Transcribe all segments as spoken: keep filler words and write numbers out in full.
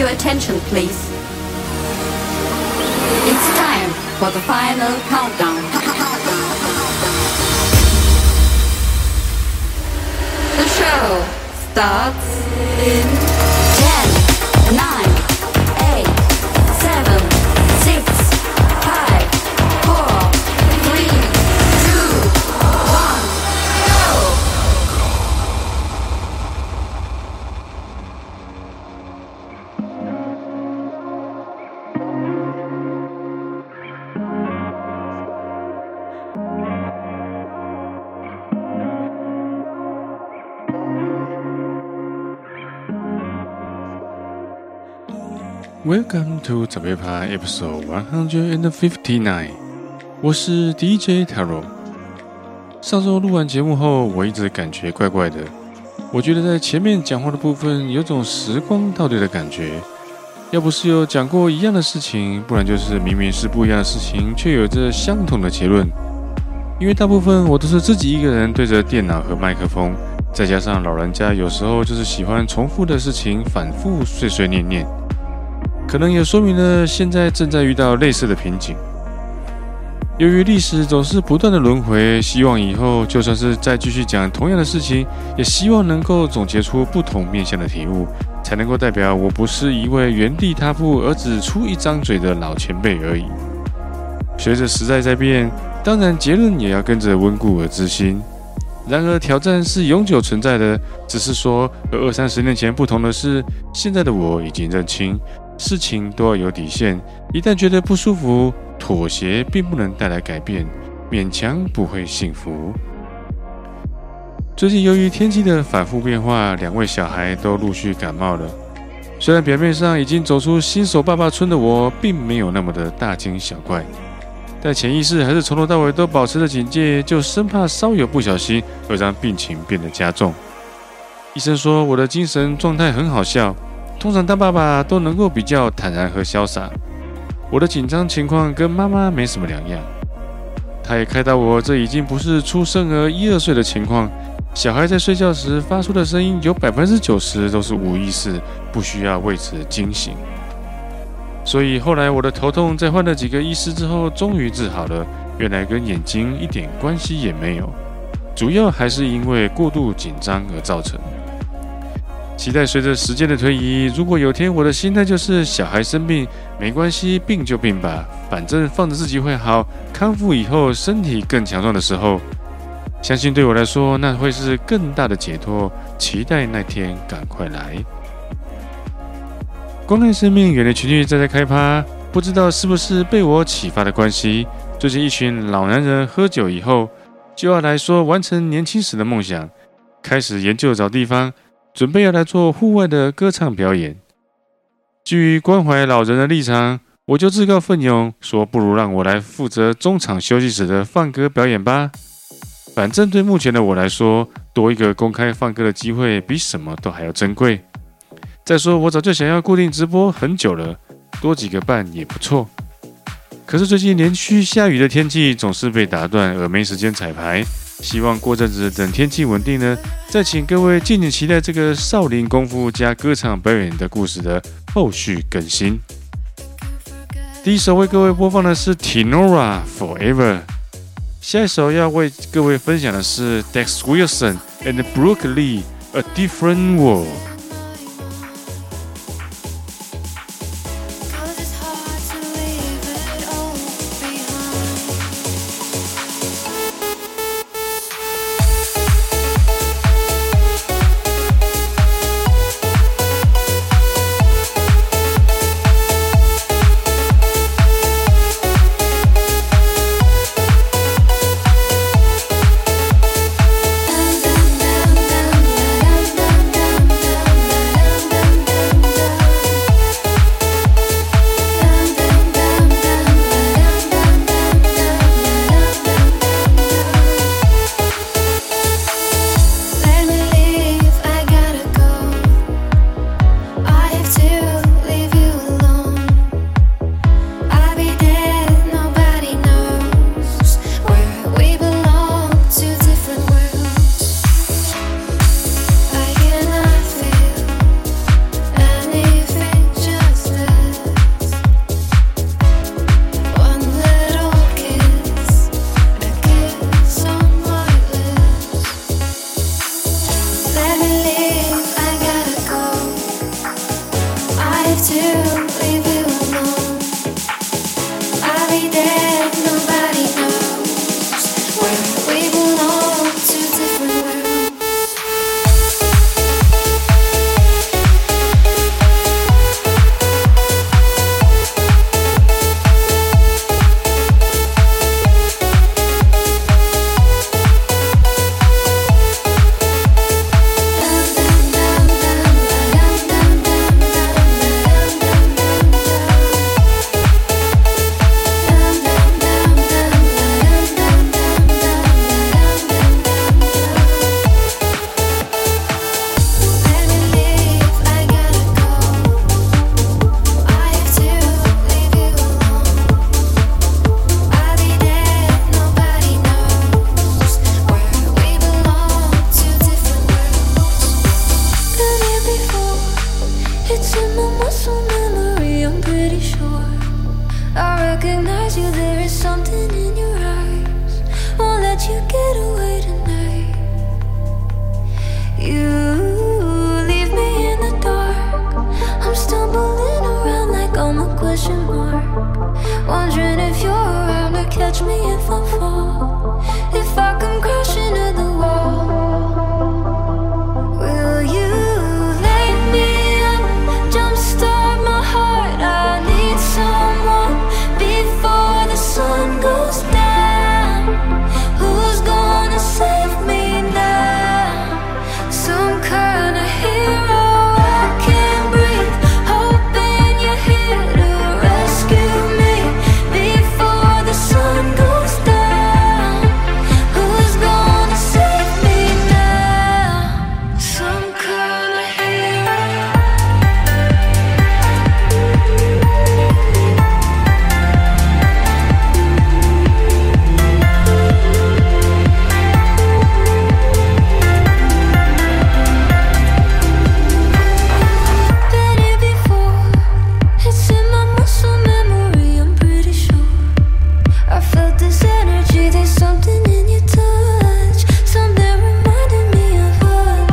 your attention, please. It's time for the final countdown. The show starts in ten, nine, eight, seven, six, five, four, three, two, one, go! Welcome to 早杯趴 Episode one fifty-nine， 我是 D J Taro。上周錄完節目後，我一直感覺怪怪的。我覺得在前面講話的部分有種時光倒退的感覺，要不是有講過一樣的事情，不然就是明明是不一樣的事情，卻有着相同的結論。因為大部分我都是自己一個人對着電腦和麥克風，再加上老人家有時候就是喜歡重複的事情，反覆碎碎念念。可能也說明了現在正在遇到類似的瓶頸。由於歷史總是不斷的輪迴，希望以後就算是再繼續講同樣的事情，也希望能夠總結出不同面向的體悟，才能夠代表我不是一位原地踏步而只出一張嘴的老前輩而已。隨着時代在變，當然結論也要跟着溫故而知新。然而挑戰是永久存在的，只是說和二三十年前不同的是，現在的我已經認清事情都要有底線，一旦覺得不舒服，妥協並不能帶來改變，勉強不會幸福。最近由於天氣的反覆變化，兩位小孩都陸續感冒了。雖然表面上已經走出新手爸爸村的我，並沒有那麼的大驚小怪，但潛意識還是從頭到尾都保持着警戒，就生怕稍有不小心會讓病情變得加重。醫生說我的精神狀態很好笑，通常當爸爸都能夠比較坦然和瀟灑，我的緊張情況跟媽媽沒什麼兩樣。他也開導我，這已經不是出生兒一二歲的情況，小孩在睡覺時發出的聲音有百分之九十都是無意識，不需要為此驚醒。所以後來我的頭痛在換了幾個醫師之後，終於治好了，原來跟眼睛一點關係也沒有，主要還是因為過度緊張而造成。期待隨着時間的推移，如果有天我的心態就是小孩生病沒關係，病就病吧，反正放着自己會好，康復以後身體更強壯的時候，相信對我來說那會是更大的解脫，期待那天趕快來。關愛生命，遠離群聚，再再開趴，不知道是不是被我啟發的關係，最近一群老男人喝酒以後就要來說完成年輕時的夢想，開始研究找地方，準備要來做戶外的歌唱表演。基於關懷老人的立場，我就自告奮勇說，不如讓我來負責中場休息時的放歌表演吧。反正對目前的我來說，多一個公開放歌的機會比什麼都還要珍貴。再說我早就想要固定直播很久了，多幾個伴也不錯。可是最近連續下雨的天氣總是被打斷，而沒時間彩排。希望過陣子等天氣穩定呢，再請各位敬請期待這個少林功夫加歌唱表演的故事的後續更新。第一首為各位播放的是 Tinora Forever， 下一首要為各位分享的是 Dex Wilson and Brooke Lee A Different World。 Dun, dun, dun, dun, dun, dun. you get away tonight. You leave me in the dark. I'm stumbling around like I'm a question mark, wondering if you're around to catch me if I fall, if I come crashing to the wall. Will you light me up, jumpstart my heart? I need someone before the sun goes down. Who's gonna save me now? Some kind of hero. I can't breathe, hoping you're here to rescue me before the sun goes down. Who's gonna save me now? Some kind of hero. Been here before. It's in my muscle memory, I'm pretty sure. I felt this energy, there's something in your touch, something reminding me of us.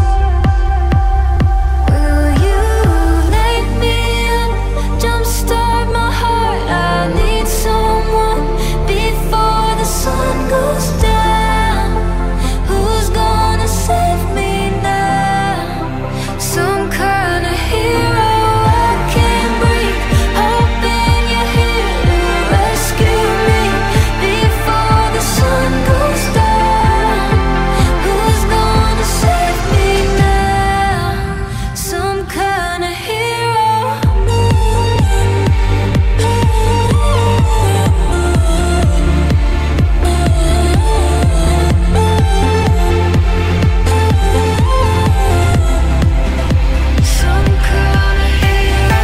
Will you light me up, jumpstart my heart? I need someone before the sun goes down. Who's gonna save me now? Some kind of hero. I can't breathe, hoping you're here to rescue me before the sun goes down. Who's gonna save me now? Some kind of hero. Some kind of hero.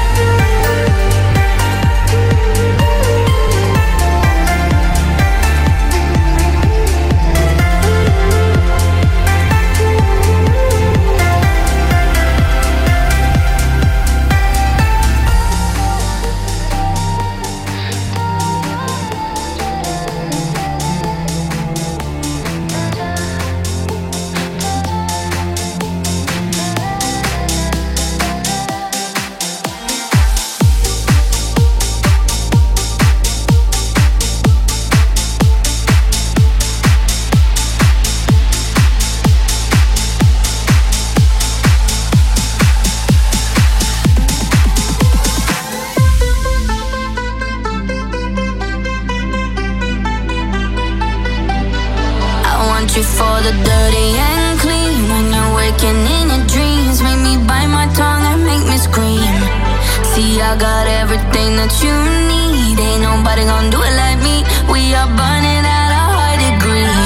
I want you for the dirty and clean. When you're waking in your dreams, make me bite my tongue and make me scream. See, I got everything that you need. Ain't nobody gonna do it like me. We are burning at a high degree.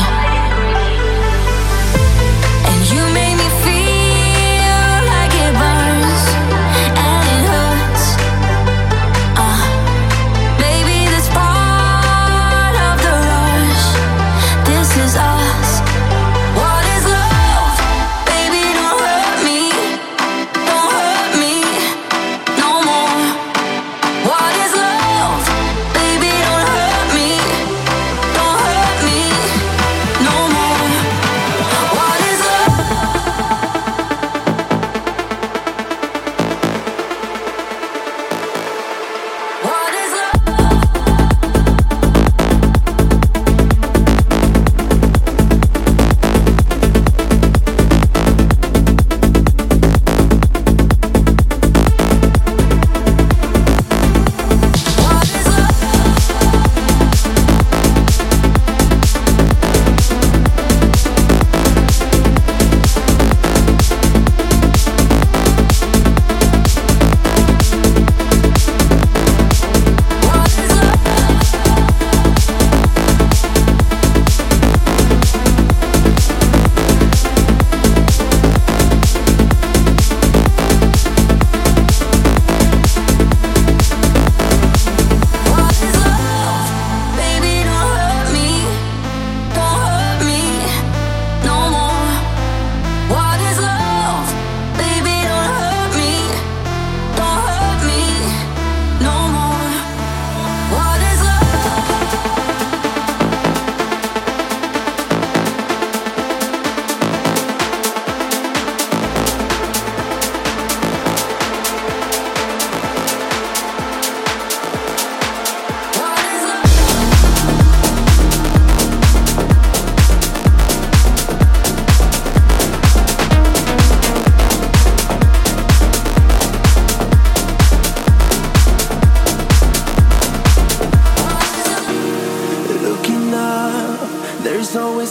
And you make me feel like it burns and it hurts. Uh, baby, that's part of the rush. This is us. What is love? Baby, don't hurt me. Don't hurt me no more. What is love? Baby, don't hurt me. Don't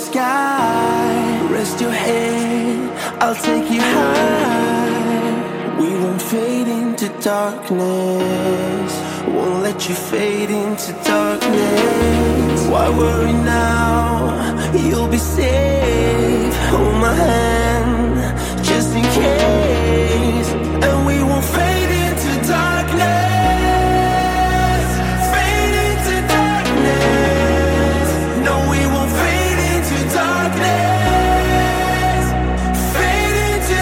sky. Rest your head, I'll take you high. We won't fade into darkness, won't let you fade into darkness. Why worry now? You'll be safe. Hold my hand, just in case. And we won't fade into darkness, fade into darkness. No, we won't fade into darkness, fade into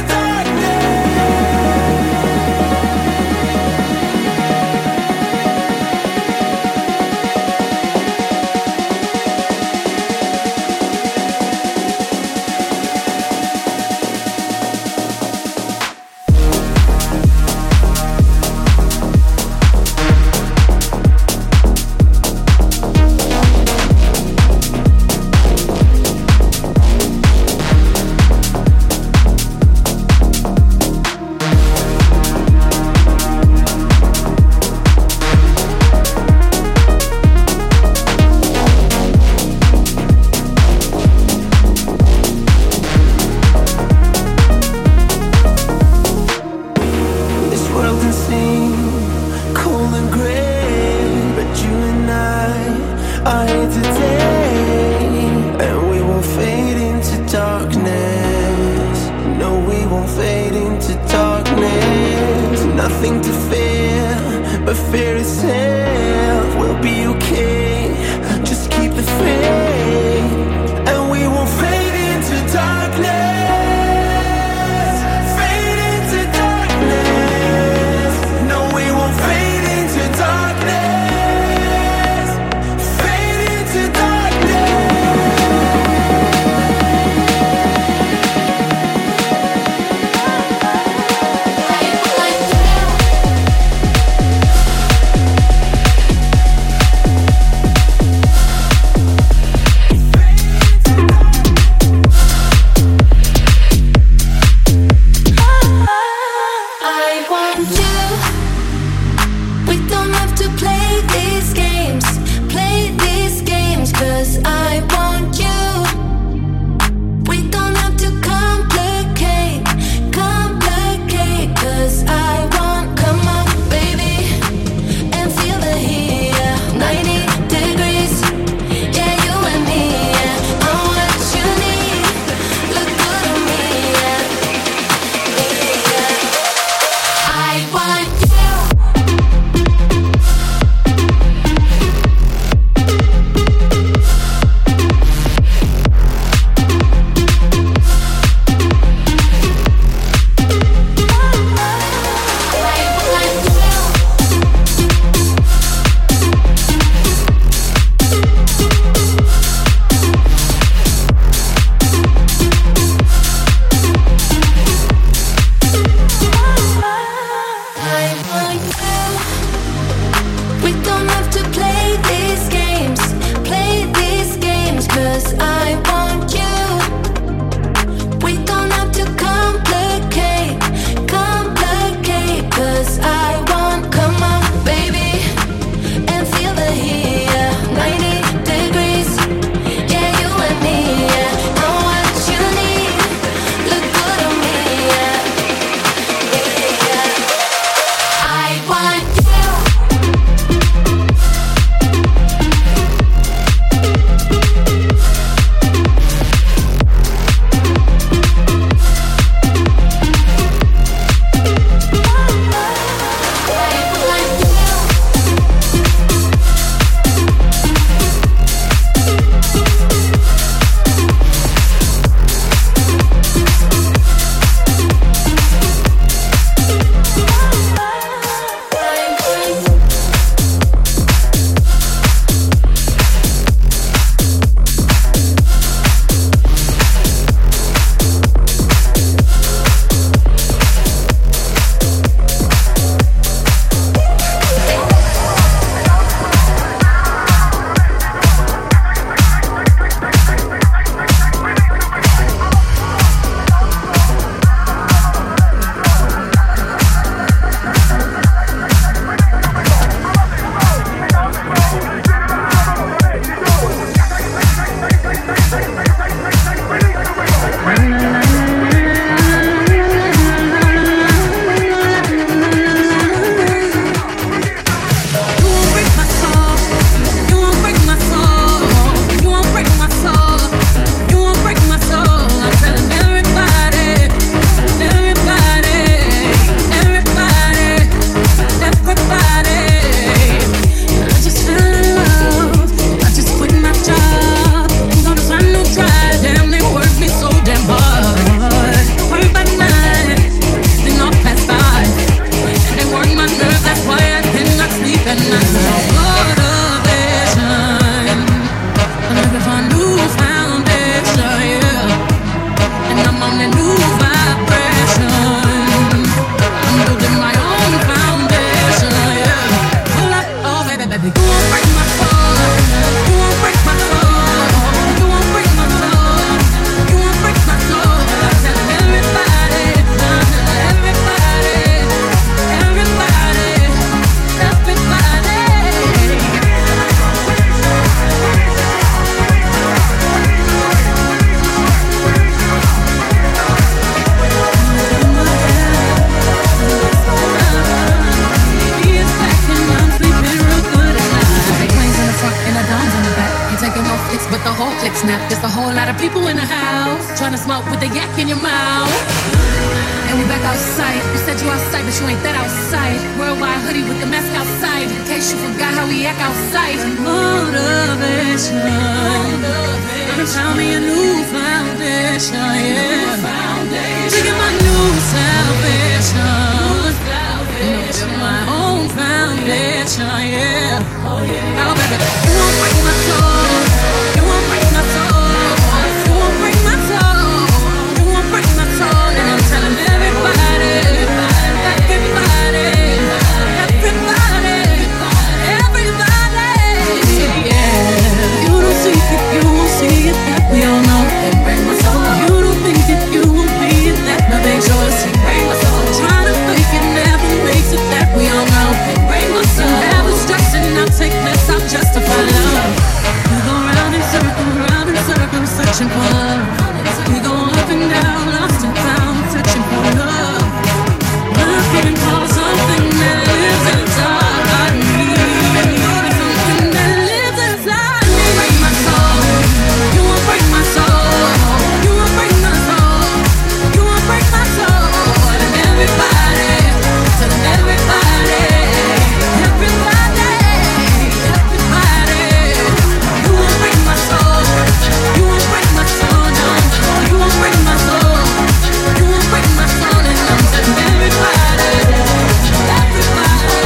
lot of people in the house trying to smoke with the yak in your mouth. And we back outside. You said you outside, but you ain't that outside. Worldwide hoodie with the mask outside. In case you forgot how we act outside. Motivation. I found me a new foundation, yeah. Look at my new salvation. Build my own foundation, yeah. Oh, baby, you won't break my soul. You won't break my soul. You won't break my soul. You won't break my soul. And I'm telling everybody, everybody, everybody, everybody, yeah. You don't see it, you won't see it, that we all know. It break my soul. You don't think it, you won't be it, that my big choice. It break my soul. Trying to fake it never makes it, that we all know. It break my soul. Never stressing, I'll take this, I'll justify love. We go round in circles, round in circles, searching for love. We go up and down, lost and found, searching for love. Looking for something that lives inside me. Something that lives inside me. Break my soul. You won't break my soul. You won't break my soul. You won't break my soul. And everybody, telling everybody, everybody, everybody. You won't break my soul. You won't break my soul, no. You won't break my soul. You won't break my soul, and I'm telling everybody, everybody,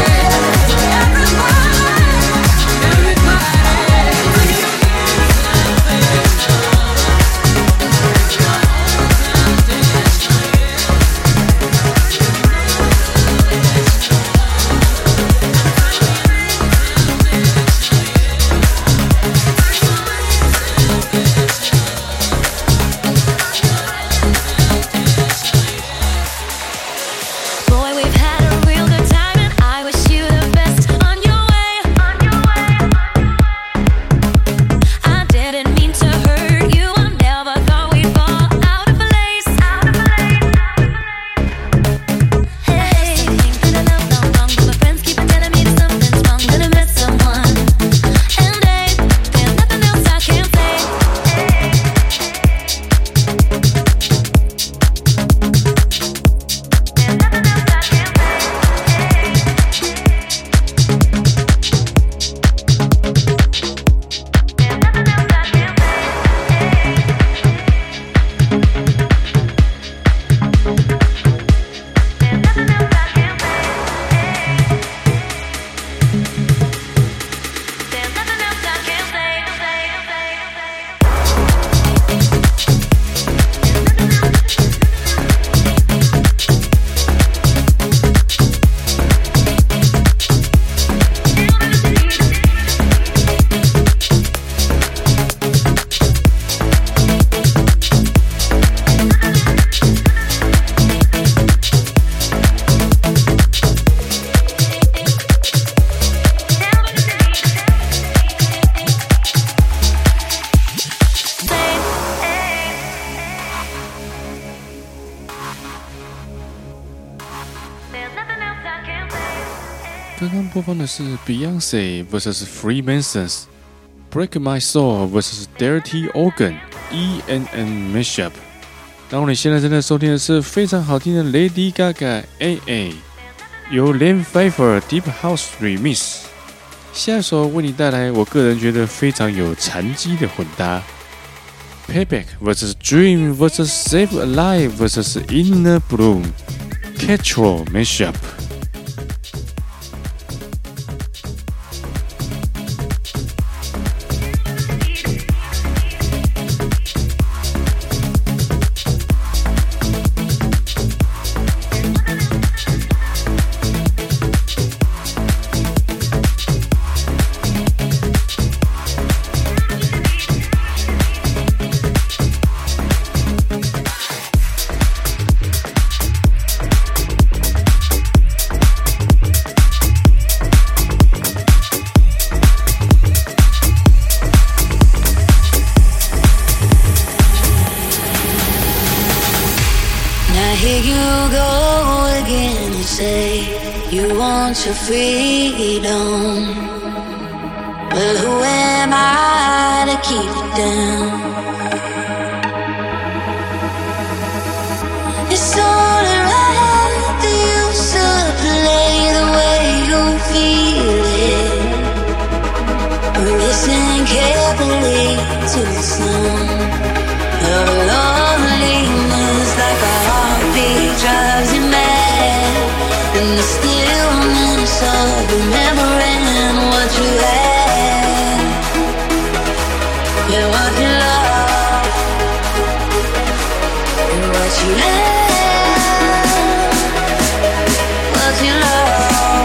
Boy, we've had a real good time, and I wish you the best on your way. I didn't mean to hurt you. I never thought we'd fall out of place. Hey, something that I know I'm wrong, but my friends keep on telling me that something's wrong. That I met someone, and they, there's nothing else I can say. There's nothing else I can say. There's nothing else I can say. 刚刚播放的是 Beyonce vs Freemasons Break My Soul vs Dirty Organ E N N Mashup。然后你现在正在收听的是非常好听的 Lady Gaga A A 由 Len Pfeiffer Deep House Remix。下一首为你带来我个人觉得非常有殘機的混搭 Payback vs Dream vs Save Alive vs Inner Bloom Catchall Mashup。 Your freedom, but who am I to keep it down? to the sun. Your loneliness like a heartbeat drives you mad. In the stillness of remembering what you had. Yeah, what you love. And what you had. What you love.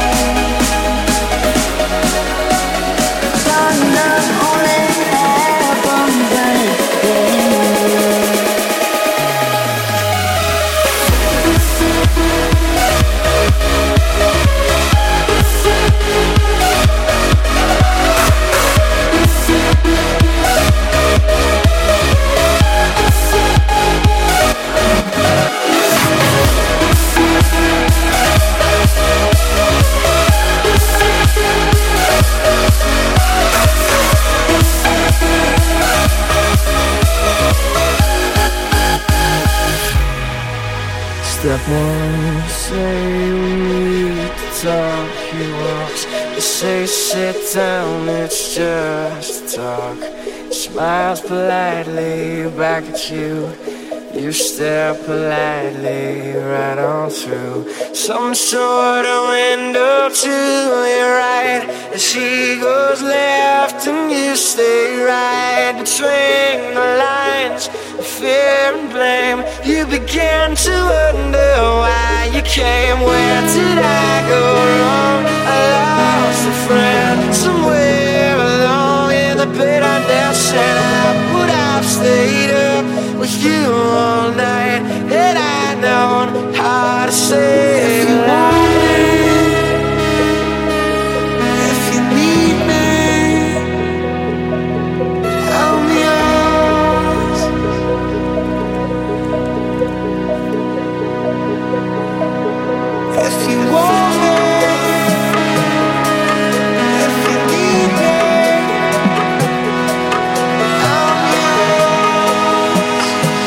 Step one, say we need to talk. He walks, you say sit down, it's just talk. Smiles politely back at you. You stare politely right on through some sort of window to your right. As she goes left and you stay right between the lines of fear and blame. You begin to wonder why you came. Where did I go wrong? I lost a friend somewhere along in the bitterness, and I would have stayed up with you all night had I known how to say if you want me, if you need me, I'm yours. If you want me, if you need me, I'm yours.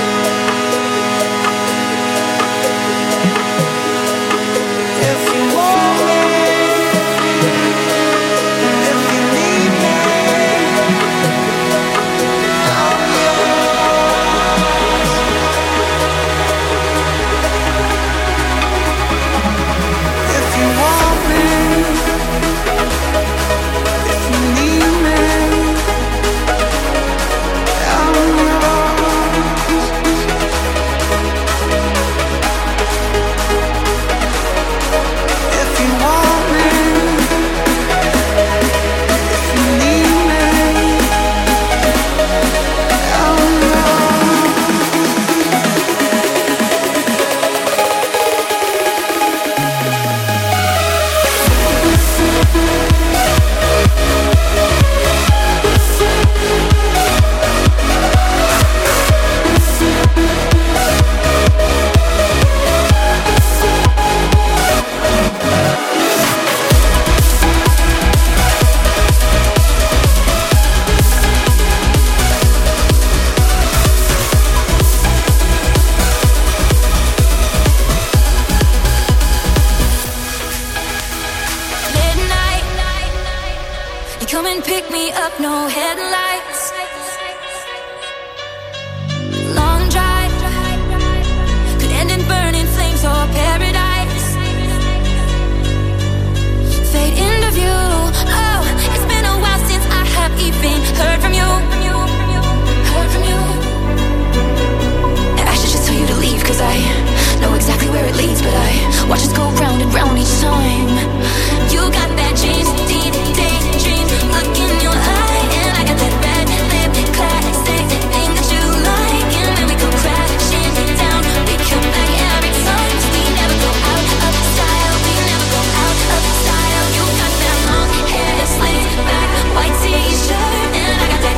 If you want me, if you need me, I'm yours. If you want me, if you need me, I'm yours. If you want me, if you need me, I'm yours. Midnight, you come and pick me up, no headlights. Long drive, could end in burning flames or paradise. Fade into view. Oh, it's been a while since I have even heard from you. Heard from you. And I should just tell you to leave, cause I know exactly where it leads, but I watch us go round and round each time. You got that James Dean daydream look in your eye, and I got that red lip classic thing that you like, and then we go crashing down. We come back every time, 'cause we never go out of style. We never go out of style. You got that long hair slicked back, white t-shirt, and I got that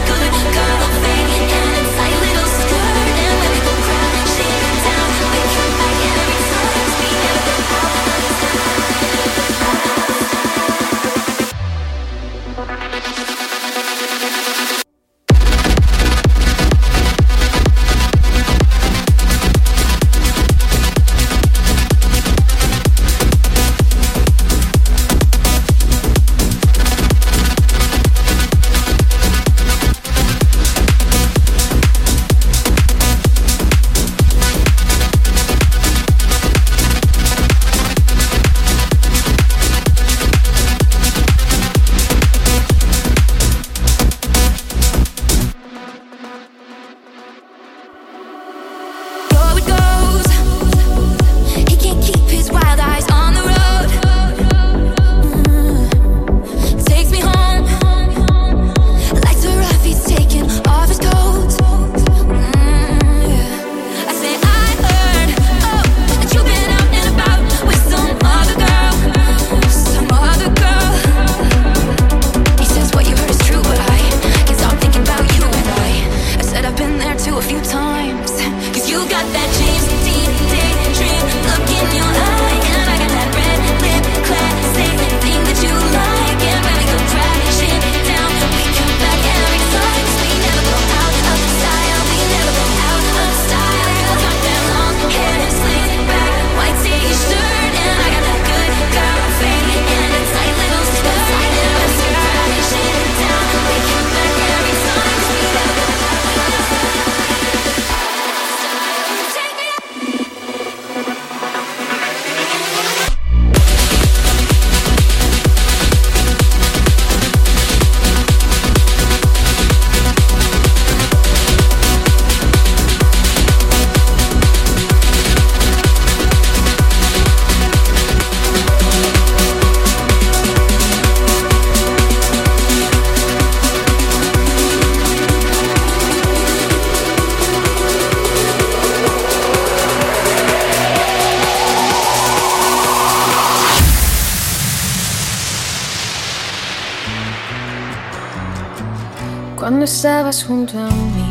cuando estabas junto a mí.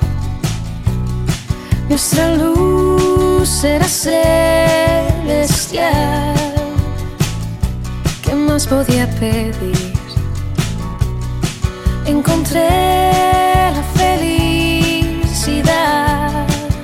Nuestra luz era celestial. ¿Qué más podía pedir? Encontré la felicidad.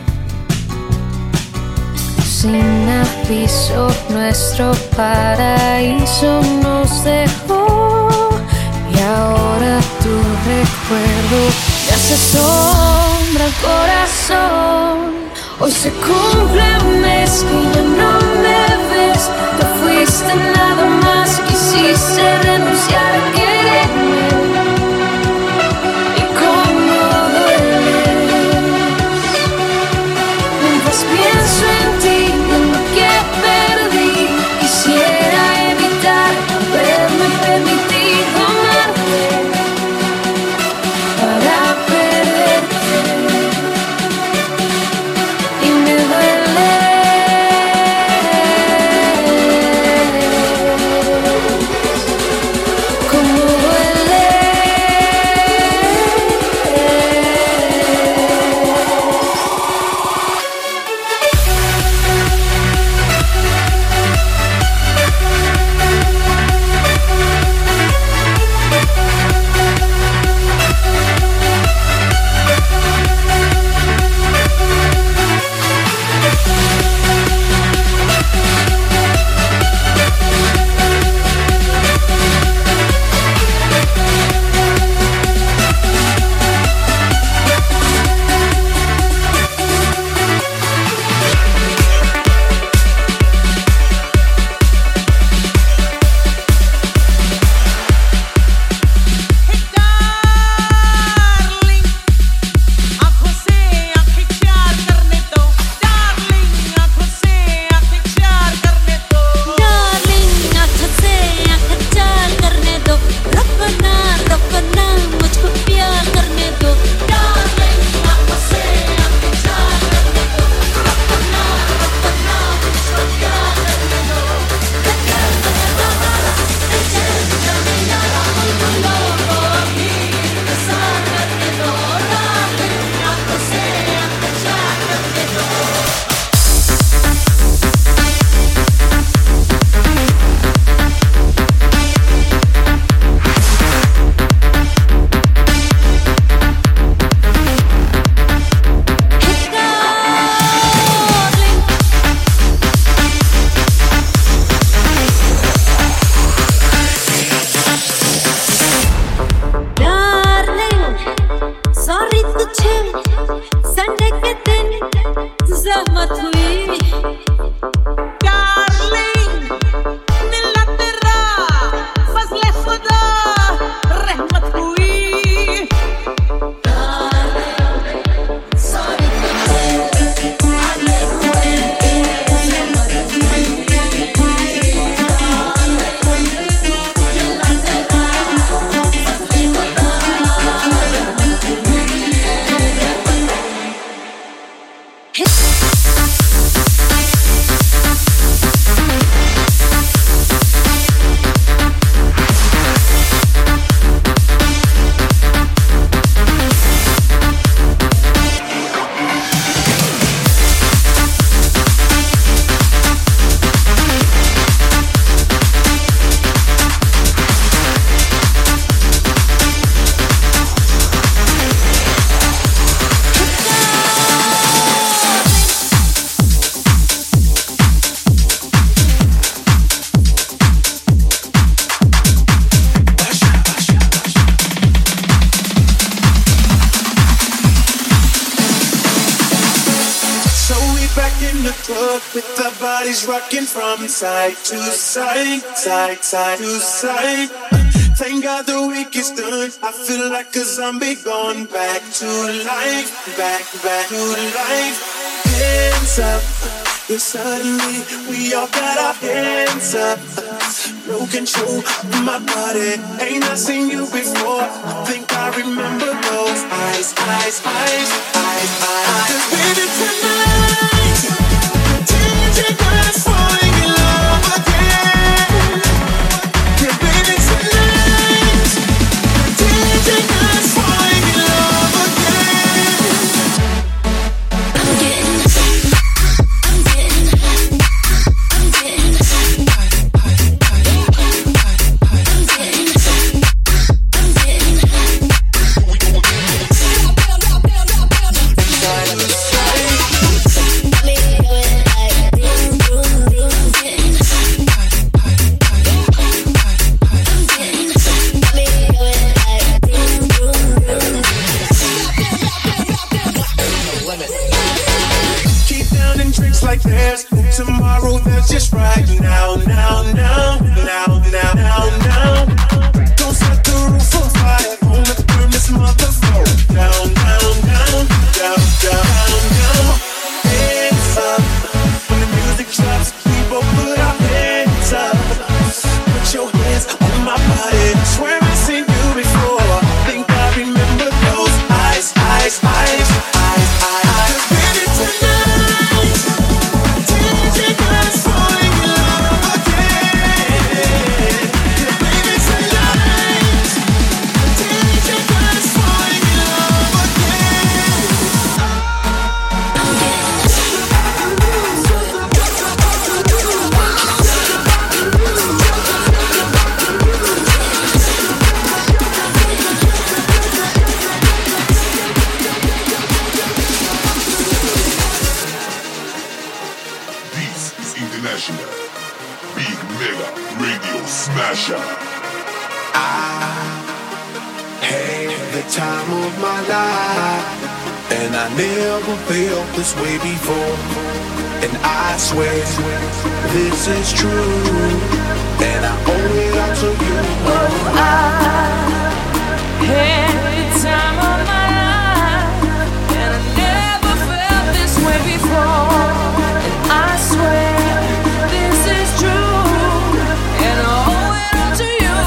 Sin aviso, nuestro paraíso nos dejó. Y ahora tu recuerdo me hace sombra al corazón. Hoy se cumple un mes que ya no me ves. Te fuiste nada más, quisiste renunciar a quererme. Y cómo dueles. Mientras pienso en ti, en lo que perdí, quisiera evitar haberme permitido amarte para perderte. Y me duele. Cómo duele. With our bodies rocking from side to side, side, side to side. Thank God the week is done. I feel like a zombie gone back to life, back, back to life. Hands up, yeah, suddenly we all got our hands up. No control of my body. Ain't I seen you before? Think I remember those eyes, eyes, eyes, eyes, eyes. 'Cause baby tonight, D J got us falling in love again. Yeah, baby tonight, D J got us falling in drinks like there's no tomorrow, there's just right now, now, now, now, now, now, now. Don't set the roof on fire, gonna burn this motherfucker down, down, down, down, down, down. Hands up, when the music drops, we both put our hands up. Put your hands on my body, swear I've seen you before. Think I remember those eyes, eyes, eyes, eyes, eyes. Baby, tonight, D J got us falling in love again. Baby, tonight, D J got us falling in love again. This is International Big Mega Radio Smasher. Had the time of my life, and I never felt this way before. And I swear this is true, and I owe it all to you. Oh, I had the time of my life, and I never felt this way before. And I swear this is true, and I owe it all to you.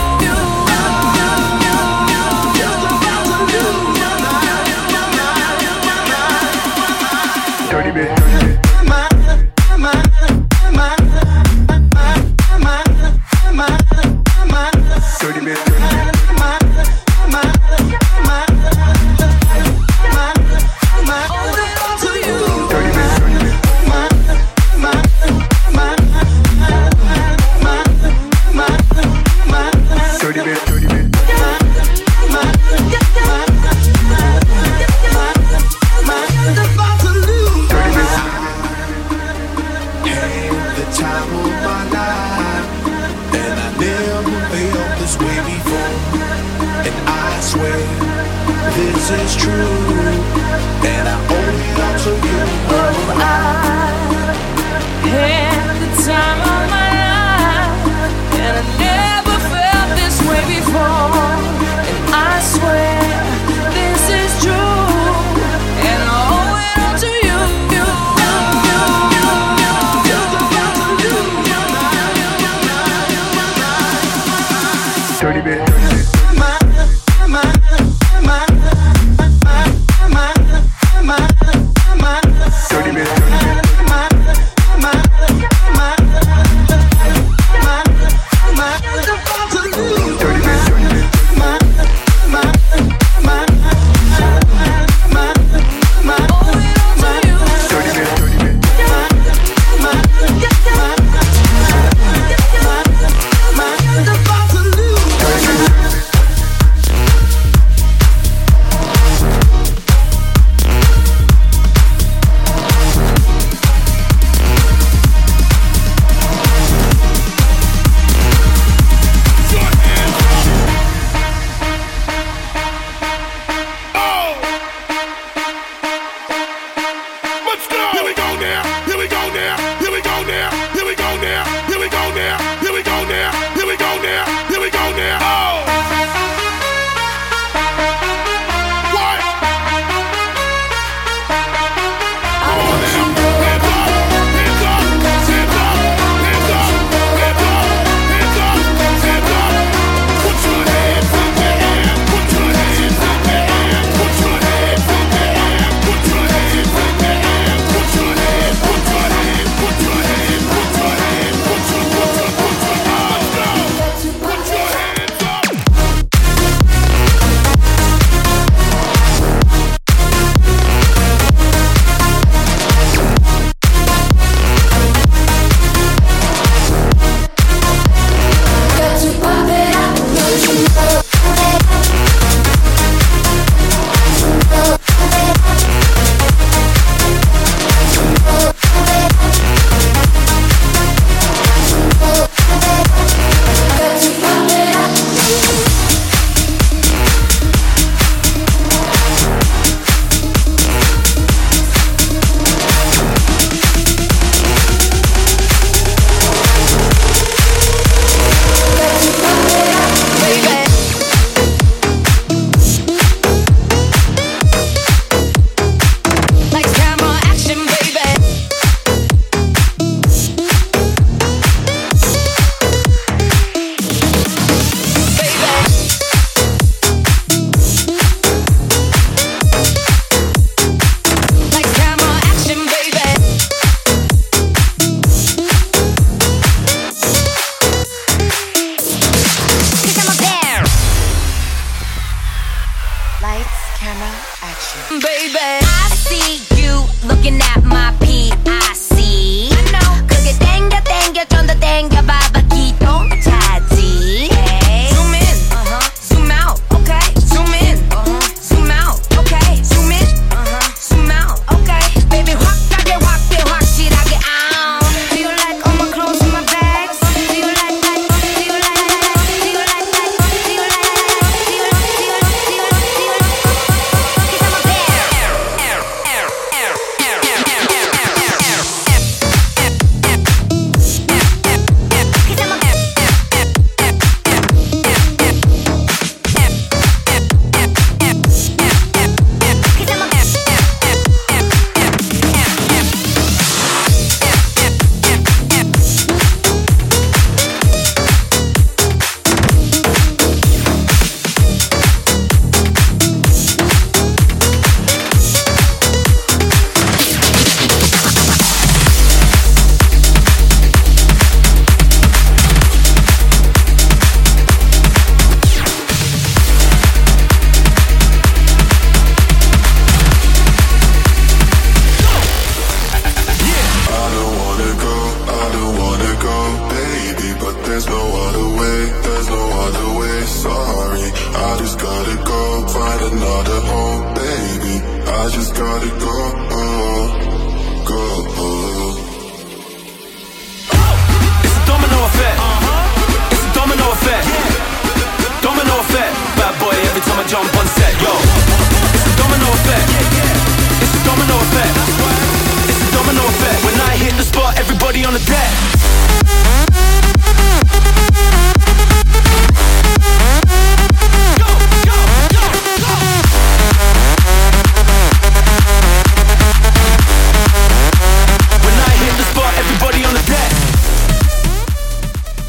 Dirty bit. Dirty bit. This is true, and I owe it all to you. Oh, I had the time of my life, and I never felt this way before. And I swear this is true, and I owe it all to you. Dirty bit. Put your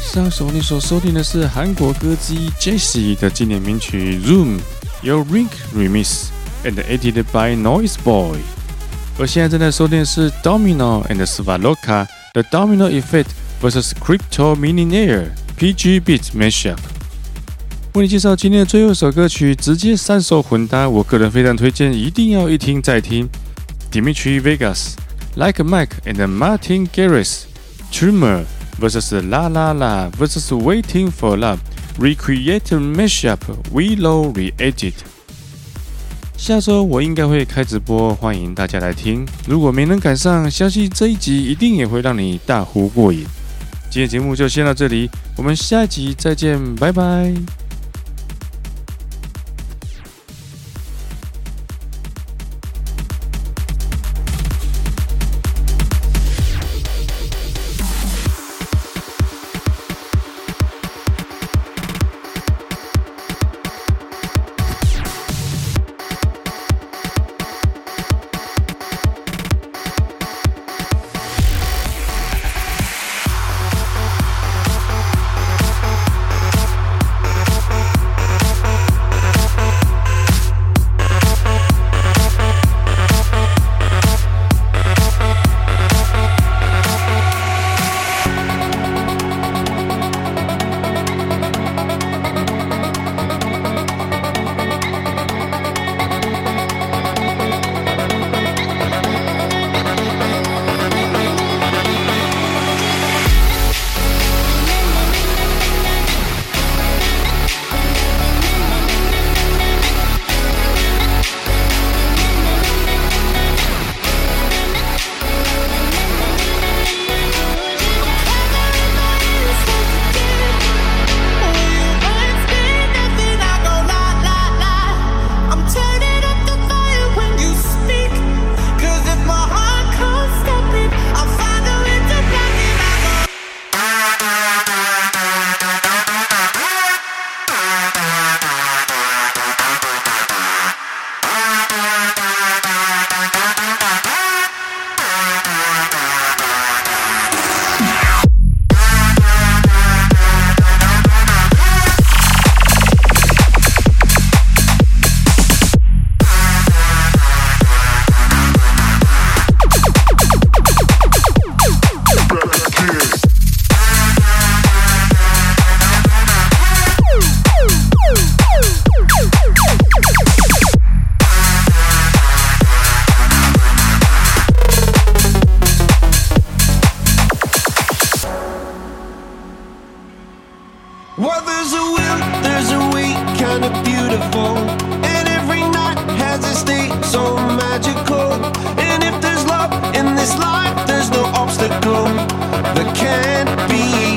上首你所收聽的是韓國歌姬 Jessie 的經典名曲 Room， 由 Rink Remix and edited by Noise Boy。而現在正在收聽的是 Domino and Svaloka 的 Domino Effect vs Crypto Millionaire P G Beat Mashup。為你介紹今天的最後一首歌曲，直接三首混搭，我個人非常推薦，一定要一聽再聽。Dimitri Vegas、Like Mike and Martin Garrix、Tremor versus La La La versus Waiting for Love Recreated Mashup Willow Re-edit。下周我應該會開直播，歡迎大家來聽。如果沒能趕上，相信這一集一定也會讓你大呼過癮。今天節目就先到這裡，我們下一集再見，拜拜。 Well, there's a will, there's a way, kind of beautiful. And every night has a state so magical. And if there's love in this life, there's no obstacle that can't be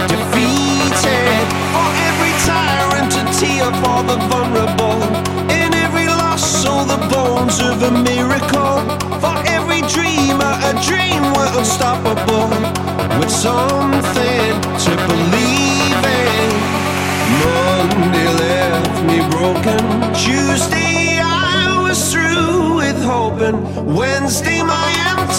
defeated. For every tyrant, a tear for the vulnerable. In every loss, all the bones of a miracle. For every dreamer, a dream we're unstoppable. With something to believe in. Monday left me broken. Tuesday I was through with hoping. Wednesday my empty